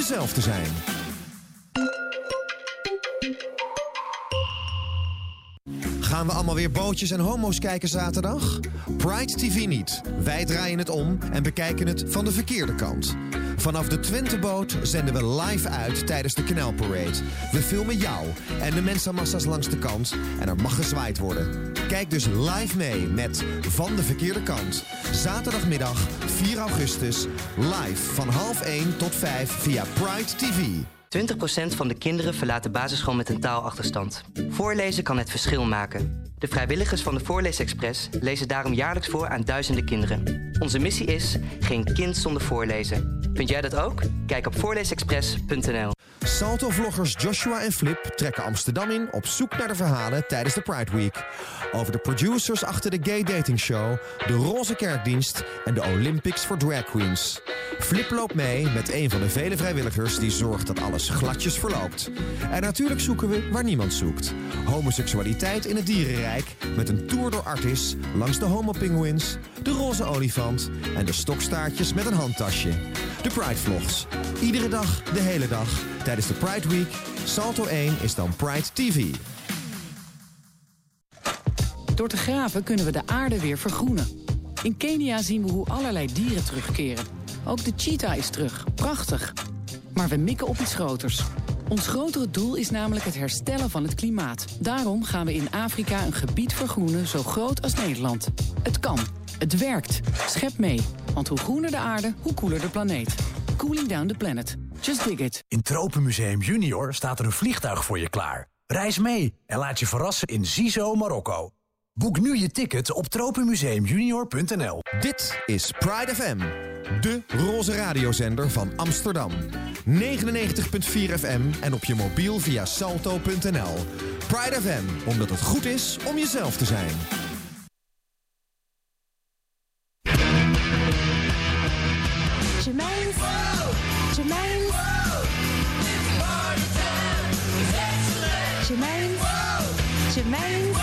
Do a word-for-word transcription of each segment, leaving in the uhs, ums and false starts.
jezelf te zijn. Gaan we allemaal weer bootjes en homo's kijken zaterdag? Pride T V niet. Wij draaien het om en bekijken het van de verkeerde kant. Vanaf de Twenteboot zenden we live uit tijdens de Kanaalparade. We filmen jou en de mensenmassa's langs de kant en er mag gezwaaid worden. Kijk dus live mee met Van de Verkeerde Kant. Zaterdagmiddag vier augustus, live van half één tot vijf via Pride T V. twintig procent van de kinderen verlaat de basisschool met een taalachterstand. Voorlezen kan het verschil maken. De vrijwilligers van de Voorleesexpress lezen daarom jaarlijks voor aan duizenden kinderen. Onze missie is geen kind zonder voorlezen. Vind jij dat ook? Kijk op voorleesexpress punt n l. Salto-vloggers Joshua en Flip trekken Amsterdam in op zoek naar de verhalen tijdens de Pride Week. Over de producers achter de gay dating show, de roze kerkdienst en de Olympics voor drag queens. Flip loopt mee met een van de vele vrijwilligers die zorgt dat alles gladjes verloopt. En natuurlijk zoeken we waar niemand zoekt. Homoseksualiteit in het dierenrijk met een tour door Artis langs de homopinguïns, de roze olifant en de stokstaartjes met een handtasje. De Pride Vlogs. Iedere dag, de hele dag, tijdens de Pride Week. Salto één is dan Pride T V. Door te graven kunnen we de aarde weer vergroenen. In Kenia zien we hoe allerlei dieren terugkeren. Ook de cheetah is terug. Prachtig. Maar we mikken op iets groters. Ons grotere doel is namelijk het herstellen van het klimaat. Daarom gaan we in Afrika een gebied vergroenen zo groot als Nederland. Het kan. Het werkt. Schep mee. Want hoe groener de aarde, hoe koeler de planeet. Cooling down the planet. Just dig it. In Tropenmuseum Junior staat er een vliegtuig voor je klaar. Reis mee en laat je verrassen in Zizo, Marokko. Boek nu je ticket op tropenmuseum junior punt n l. Dit is Pride F M, de roze radiozender van Amsterdam. negenennegentig komma vier F M en op je mobiel via salto punt n l. Pride F M, omdat het goed is om jezelf te zijn. Jermaine's, Jermaine's, Jermaine's, Jermaine's.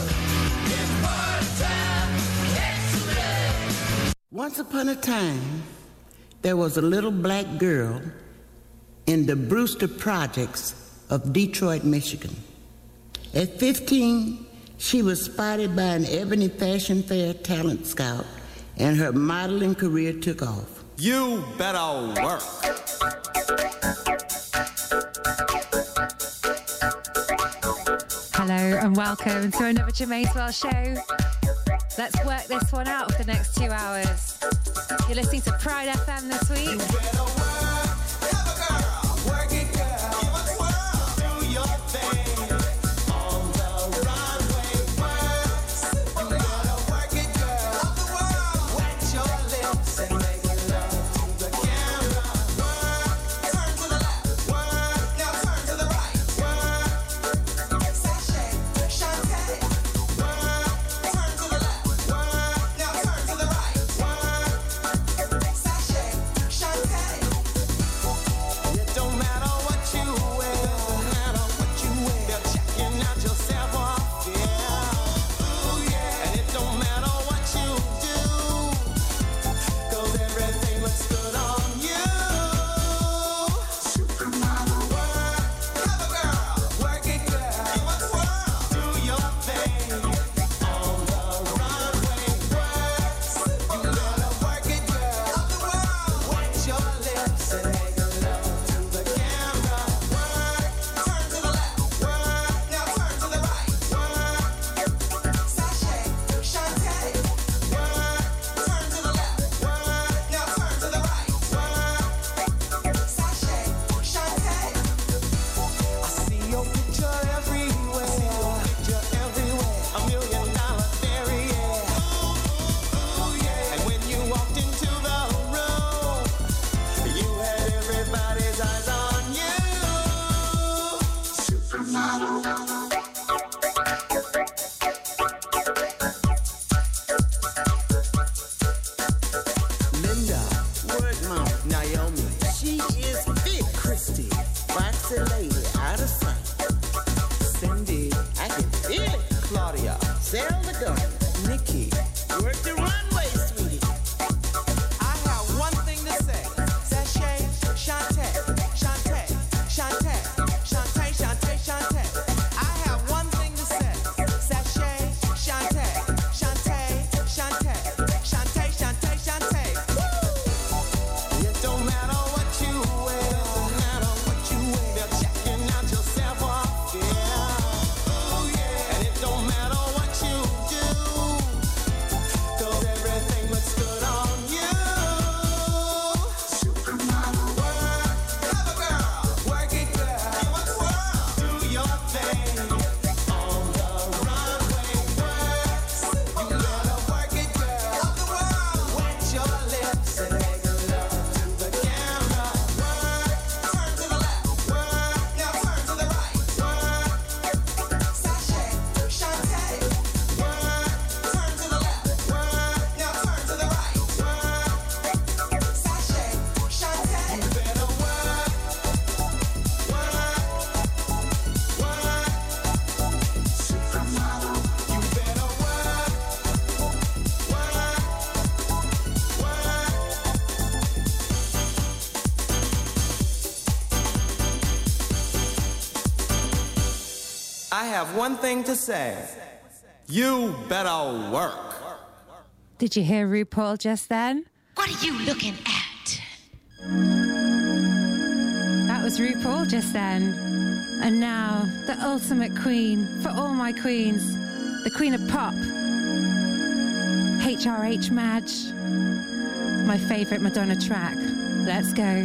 Once upon a time, there was a little black girl in the Brewster Projects of Detroit, Michigan. At fifteen, she was spotted by an Ebony Fashion Fair talent scout, and her modeling career took off. You better work. Hello and welcome to another Jermaine's World show. Let's work this one out for the next two hours. You're listening to Pride F M this week. have one thing to say. You better work. Did you hear RuPaul just then? What are you looking at? That was RuPaul just then. And now, the ultimate queen for all my queens. The queen of pop. H R H Madge. My favourite Madonna track. Let's go.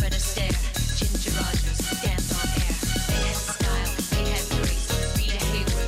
Ginger Rogers, dance on air. They had style, they had grace. Rita Hayworth.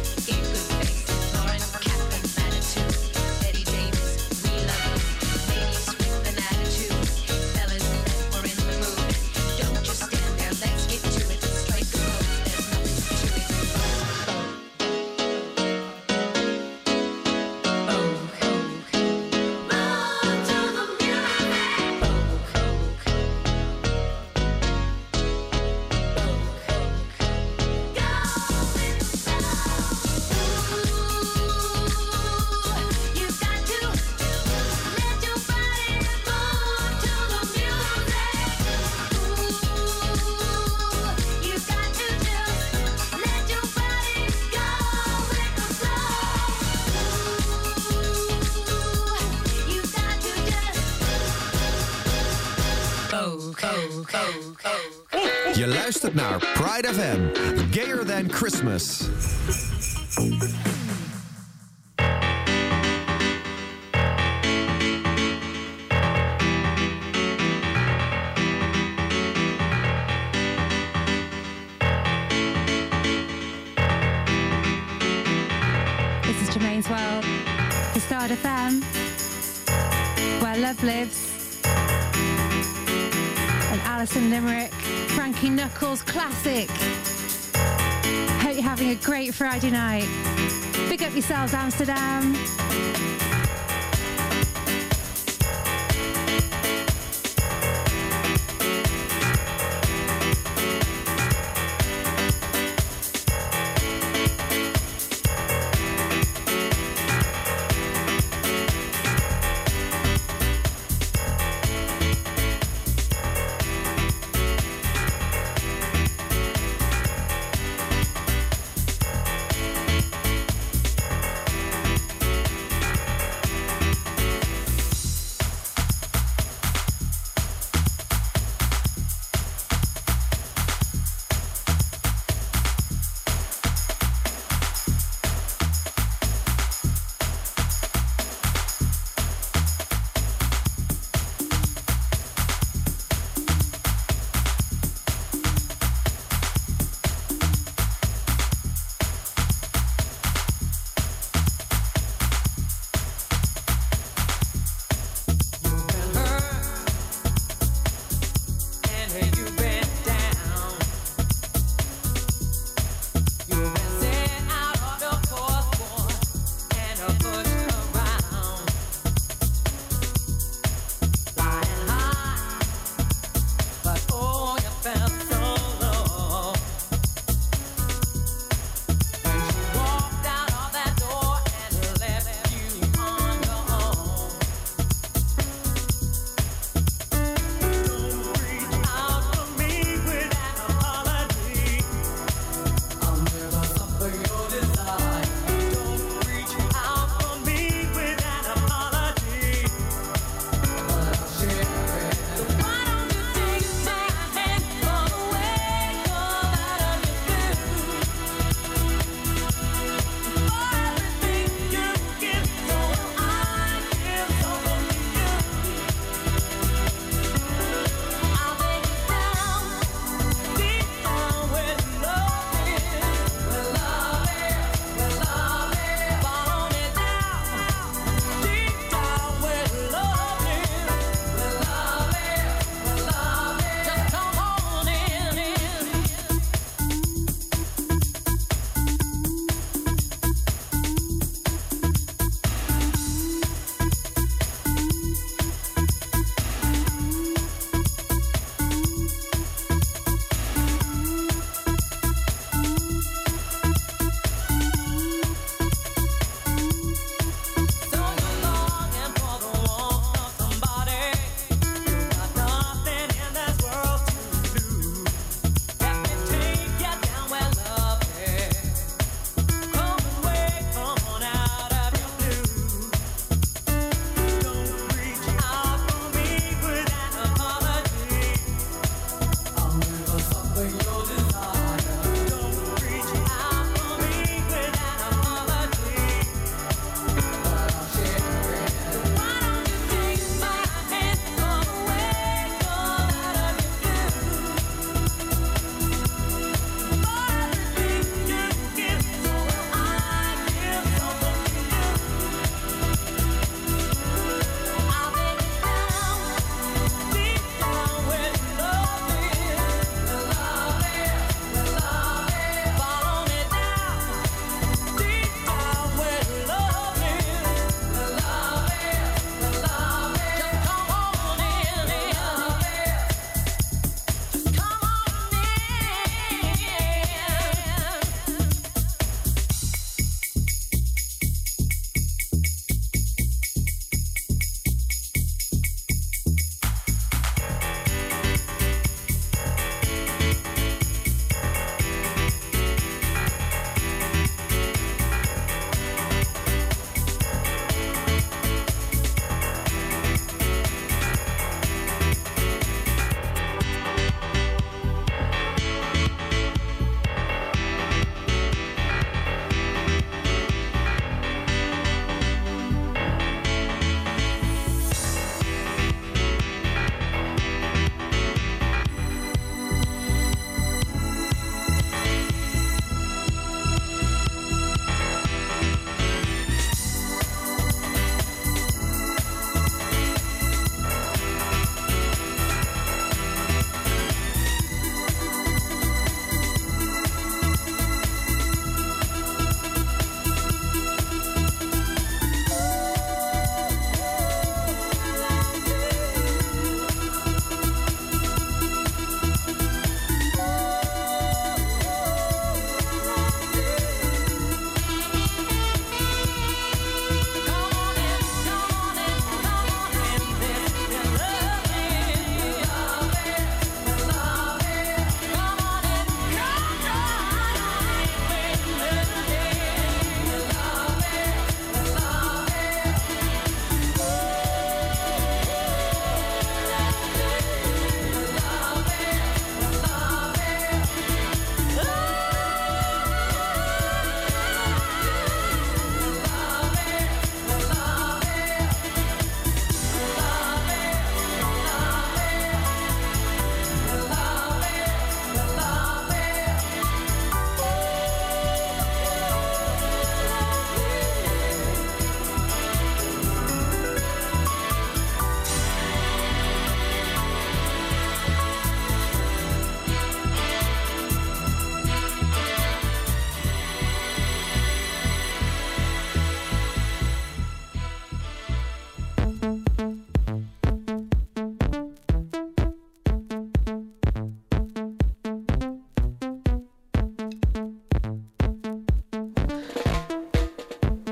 Je luistert naar Pride F M, Gayer Than Christmas. This is Jermaine's World, the Start F M, where love lives. And Alison Limerick, Frankie Knuckles classic. Hope you're having a great Friday night. Big up yourselves, Amsterdam.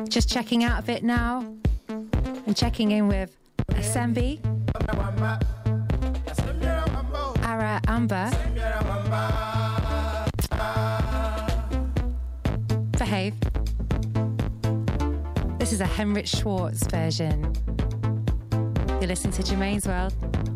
Just checking out a bit now and checking in with Asembi, Ara Amber, Behave. This is a Henrik Schwartz version. You're listening to Germaine's World.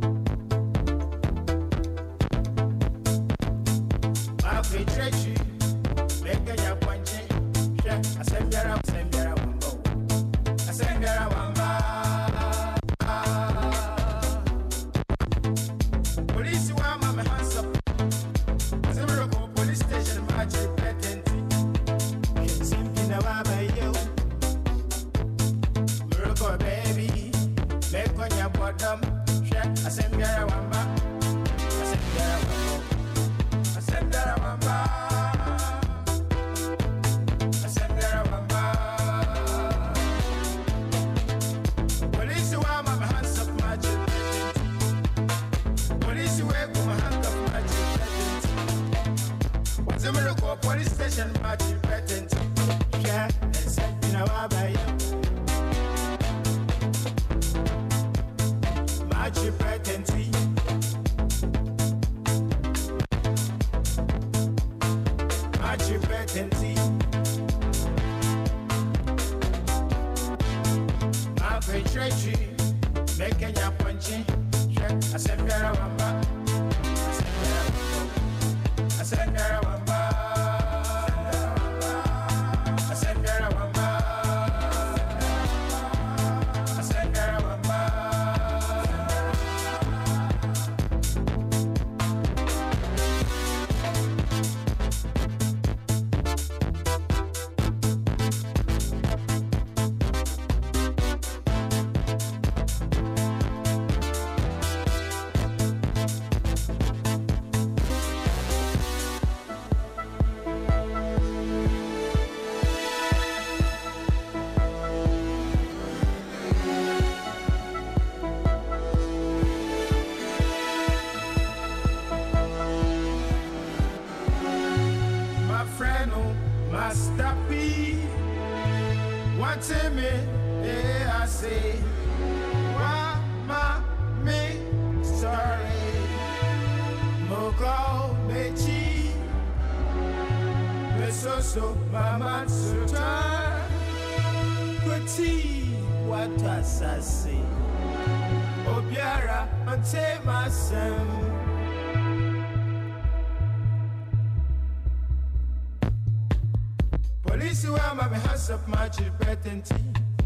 Police where my hands up my chipetenti.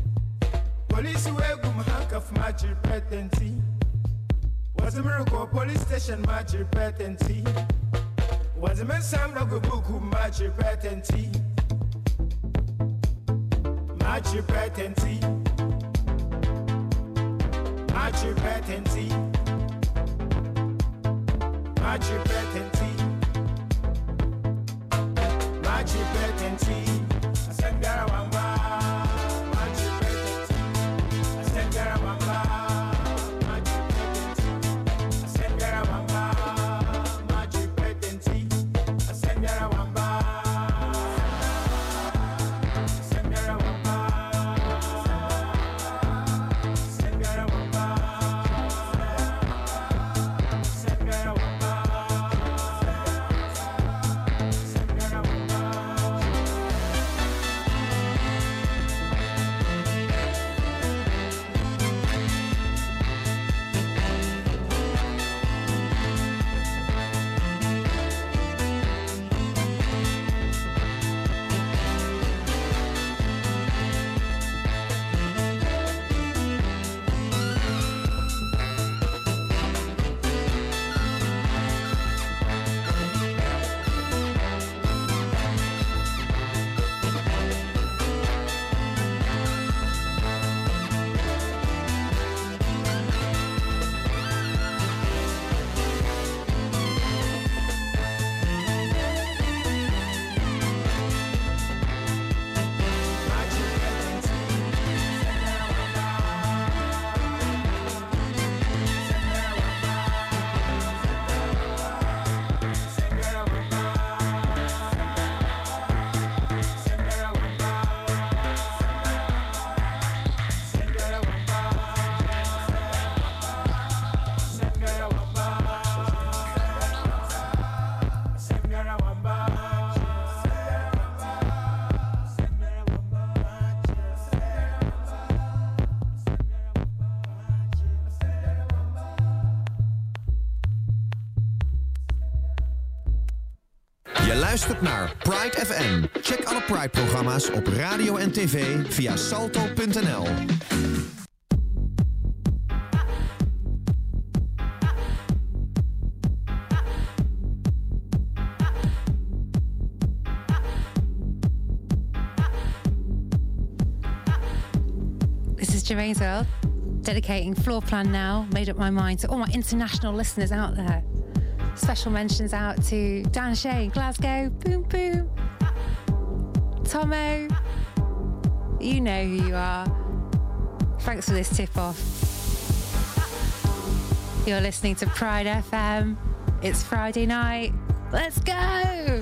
Police where gum handcuff my chipetenti. Was a miracle police station my chipetenti. Was a man Sam Logo book my chipetenti. My chipetenti. My chipetenti. My chipetenti. My chipetenti. I said Garawamba. My chipetenti. I said Garawamba. My chipetenti. I said Garawamba. My chipetenti. I said Garawamba. I said Garawamba. I said Garawamba. I said Garawamba. luistert naar Pride F M. Check alle Pride-programma's op radio en tv via salto punt n l. This is Gervais World, dedicating Floor Plan Now, made up my mind to all my international listeners out there. Special mentions out to Dan Shea, Glasgow, boom boom. Tomo, you know who you are. Thanks for this tip-off. You're listening to Pride F M. It's Friday night. Let's go!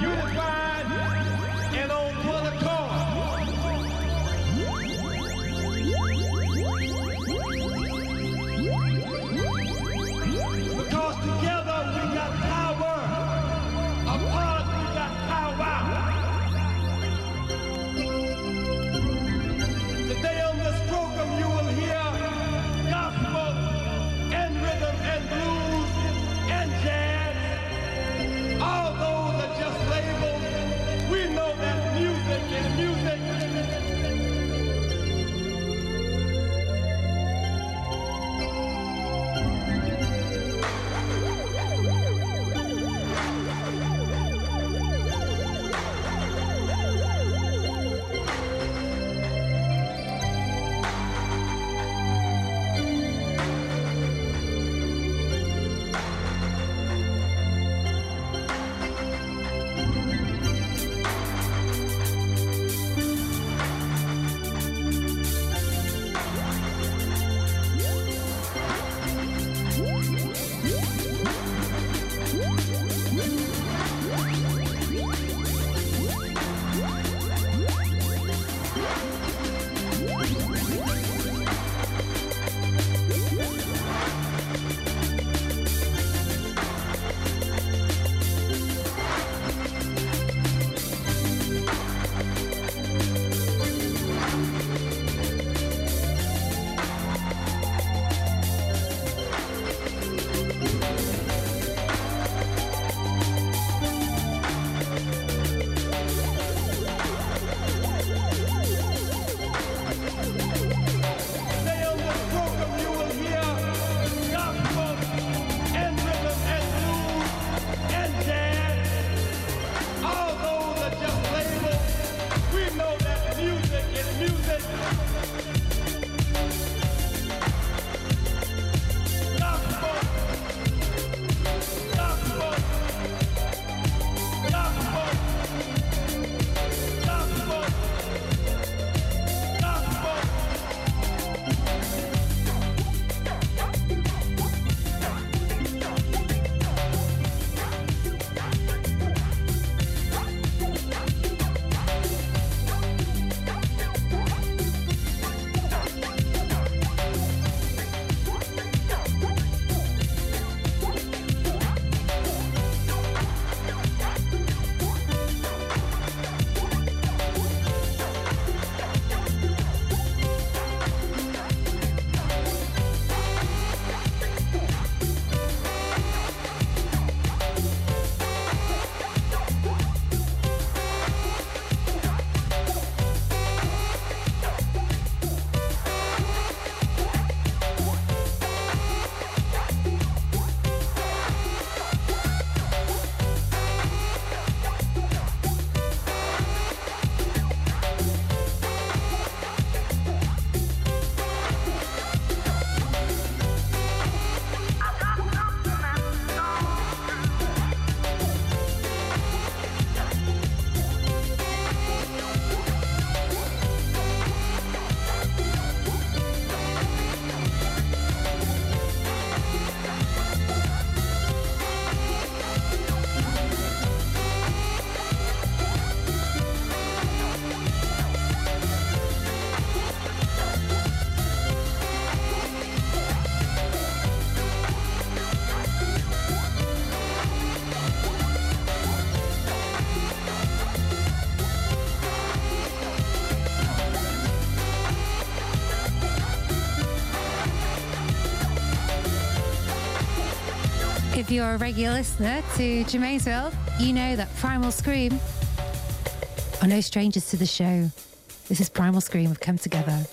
unified and on one accord. Because together we got power, apart we got power. Today on this program you will hear gospel and rhythm and blues and jazz. All those are just labels. We know that music is music. If you're a regular listener to Germaine's World, you know that Primal Scream are no strangers to the show. This is Primal Scream. We've come together.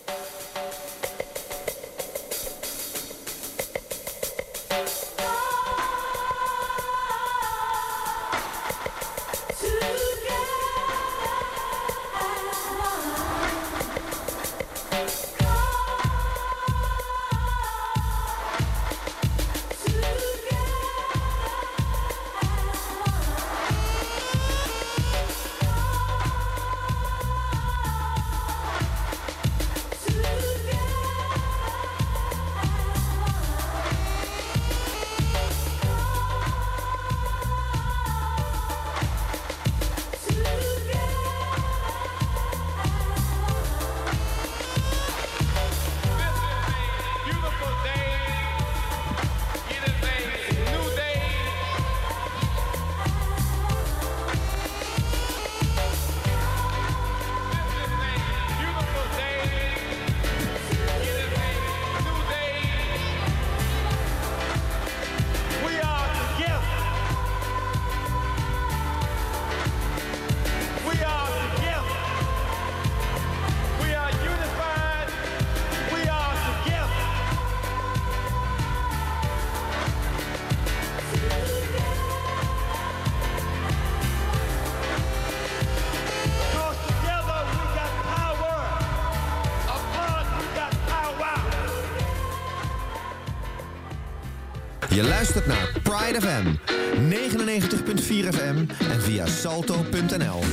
Je luistert naar Pride F M, negenennegentig komma vier F M en via salto punt n l.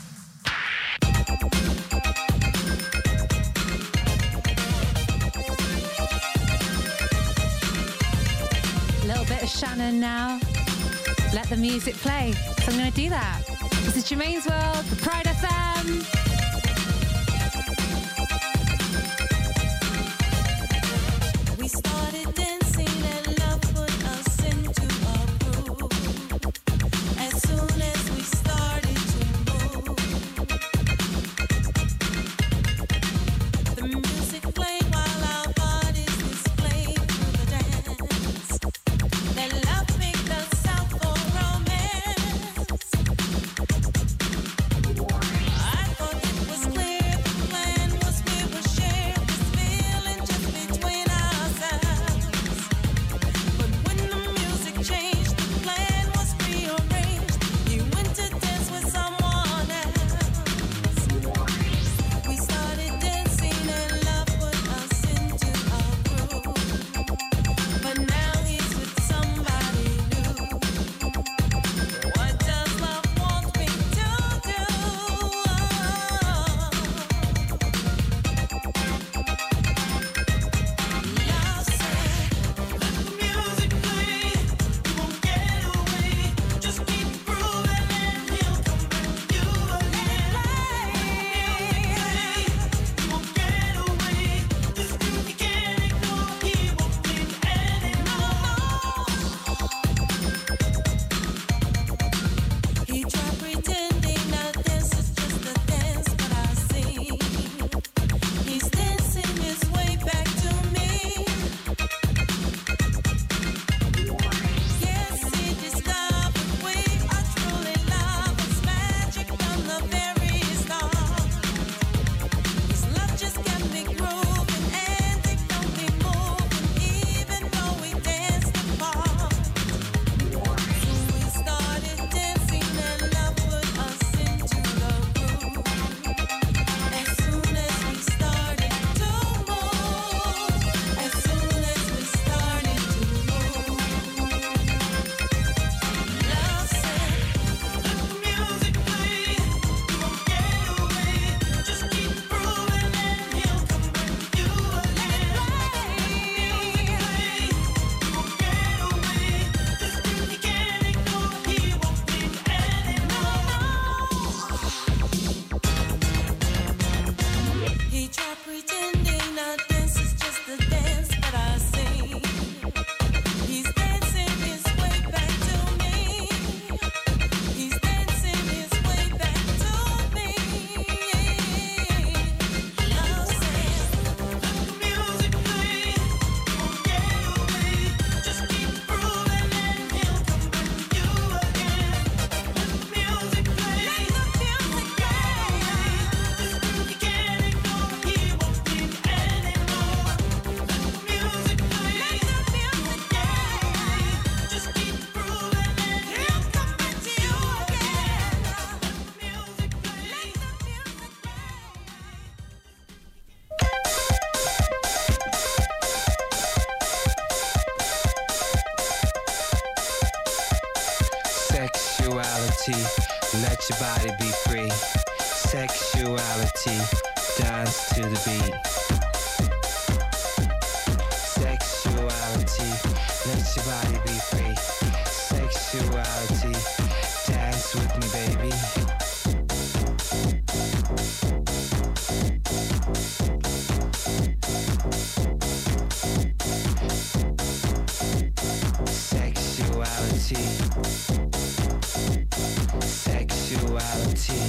Little bit of Shannon now. Let the music play. So I'm going to do that. This is Jermaine's World, the Pride F M. We started dancing and love put us into a groove. As soon as we started to move, the music played while our bodies displayed through the dance. That love picked us out for romance. I thought it was clear the plan was we would share this feeling just between ourselves. But when the music changed, the plan was rearranged. You went to dance with someone else. We started dancing and love put us into a groove. But now he's with somebody new. What does love want me to do? Love said, let the music play. You won't get away. Just keep grooving and he'll come back to you again. You won't get away. This groove you can't ignore. He won't think anymore. He tried pretending that this is just a dance, but I see he's dancing his way back to me. Yes, he discovered we are truly lovers, magic from the very start. His love just kept me grooving and it got me moving, even though we danced apart. So we started dancing and love put us into the groove. As soon as we started to move, as soon as we started to move, love said, let the music play. You won't get away. Just keep grooving and he'll come back to you again. You won't get away. This groove you can't ignore. He won't think anymore. He tried pretending our dance is just a dance, but I see he's dancing his way back to me. He's dancing his way back to me. Love said, let the music play. You won't get away. Just keep grooving and he'll come back to you again. Let the music play. Let the music play. This groove you can't ignore. He won't think anymore. Let the music play. Let the music play. Just keep grooving and he'll come back to you again. Let the music play. Let the music Sexuality, let your body be free. Sexuality, dance to the beat. Sexuality, let your body be free. Sexuality, dance with me, baby. Sexuality. Sexuality.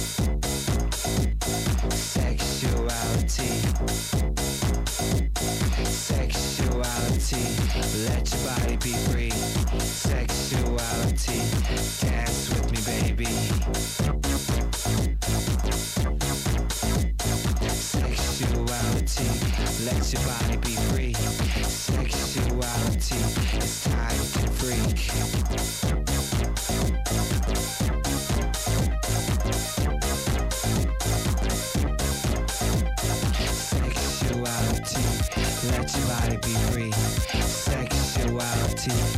Sexuality. Sexuality. Let your body be free. Sexuality. Dance with me, baby. Sexuality. Let your body be free. Sexuality. It's time to freak. Sexuality, let your body be free. Sexuality,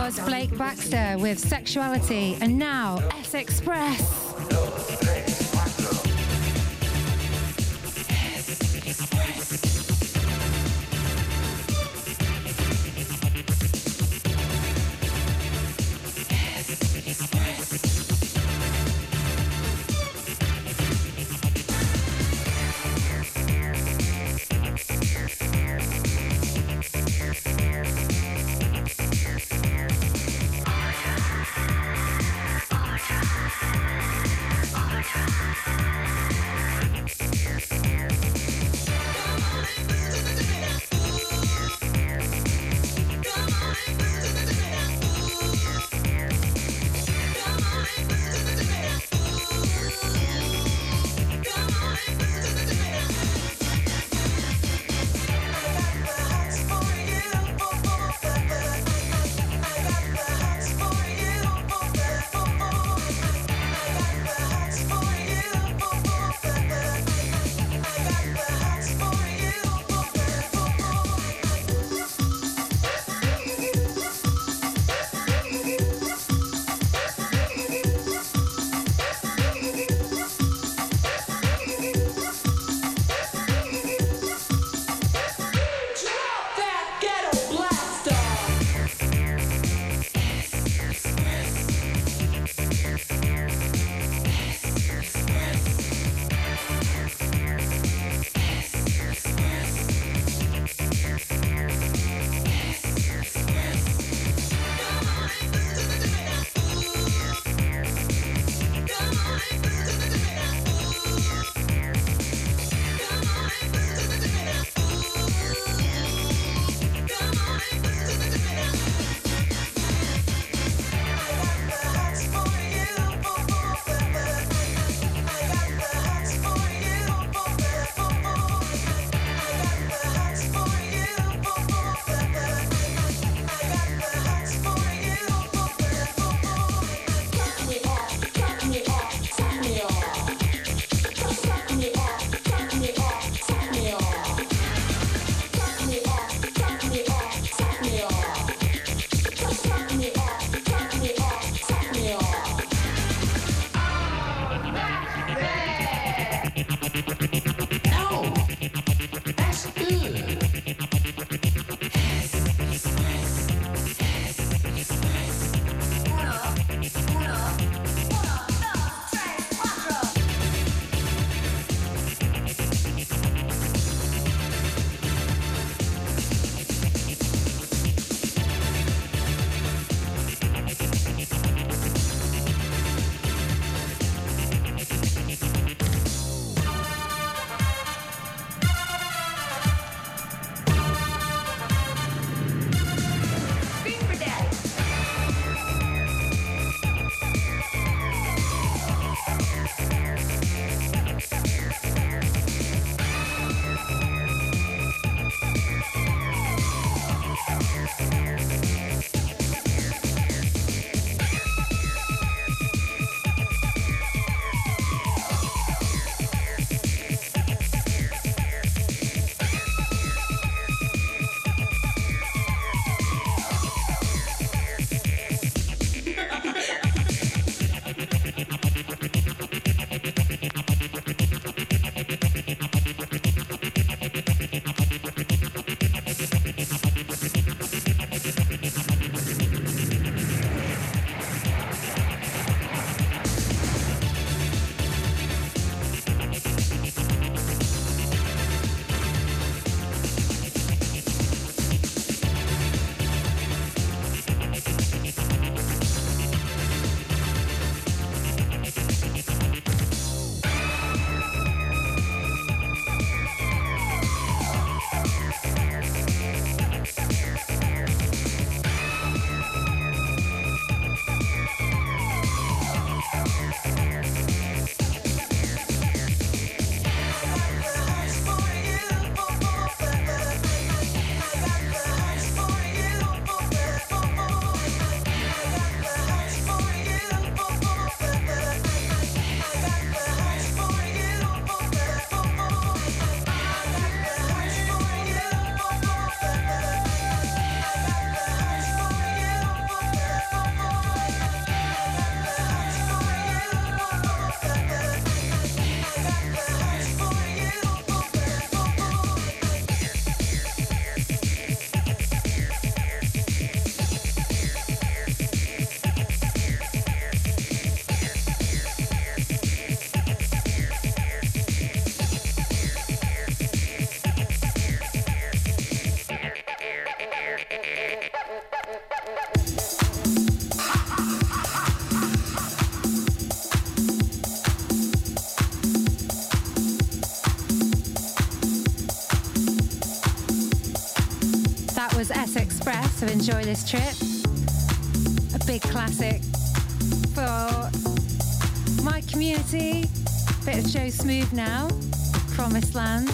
was Blake Baxter with Sexuality, and now S Express. All the time. to enjoy this trip. A big classic for my community. Bit of Joe Smooth now, Promised Land.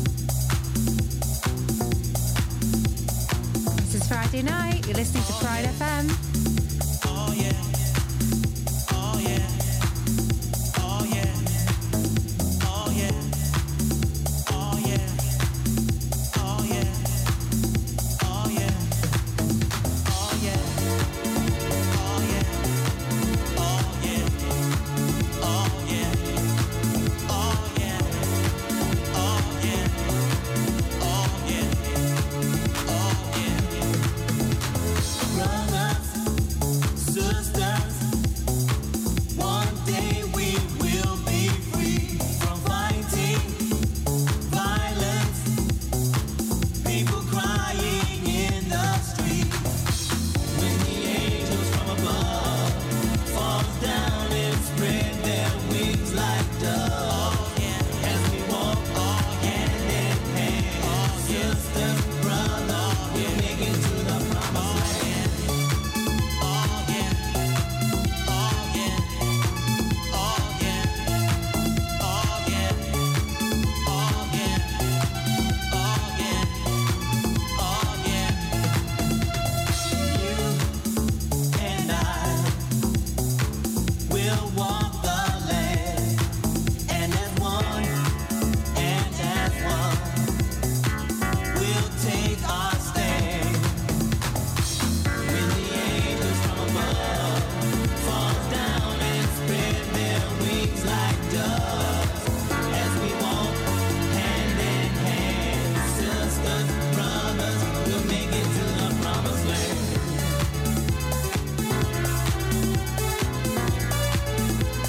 This is Friday night, you're listening to Pride F M. Oh yeah. Oh yeah. Oh yeah. Oh yeah. Oh yeah. Oh yeah. Oh yeah. Oh yeah. Oh yeah. Oh yeah. Oh yeah. Oh yeah. Oh yeah. Oh yeah. Oh yeah. Brothers, sisters, one day we will be free from fighting violence, people crying in the street. When the angels from above falls down and spread their wings like doves, as we walk all hand in hand, sisters, brothers, we're making to the promised land. Oh yeah, oh yeah, oh yeah, oh yeah, oh yeah, oh yeah, oh yeah. You and I will walk the land, and as one, and as one, we'll take our stand. When the angels from above fall down and spread their wings like doves, as we walk hand in hand, sisters, brothers, we'll make it to the promised land.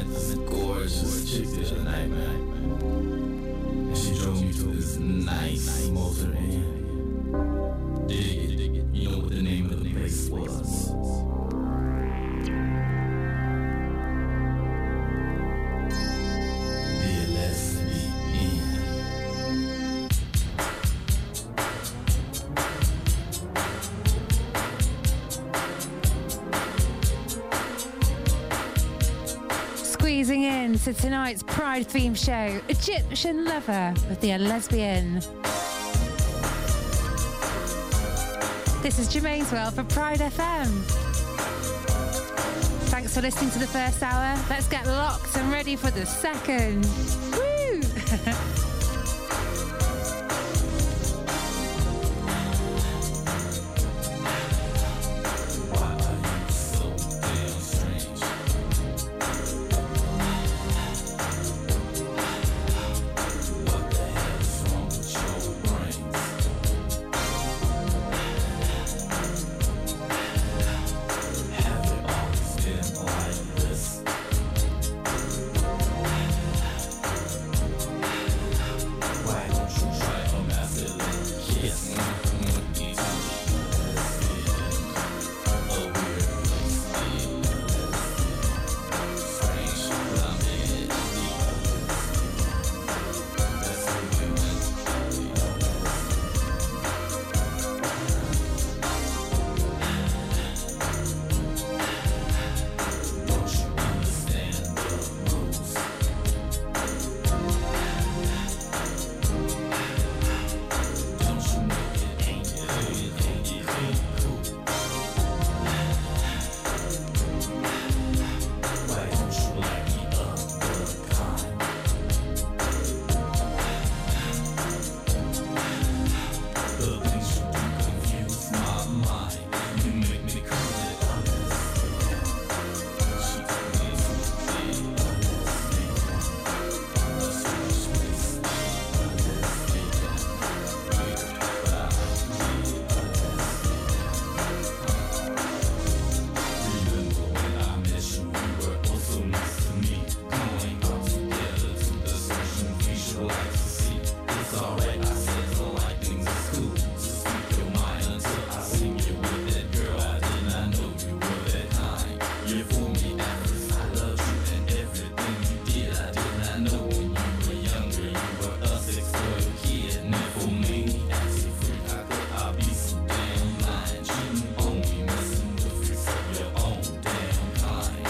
this gorgeous chick the other night, man. And she drove me to this nice motor inn. Dig it, dig it. You know what the name of the place was? The Lesbian. Squeezing in to tonight's Pride theme show, Egyptian Lover with the Lesbian. This is Jermaine's World for Pride F M. Thanks for listening to the first hour. Let's get locked and ready for the second. Woo!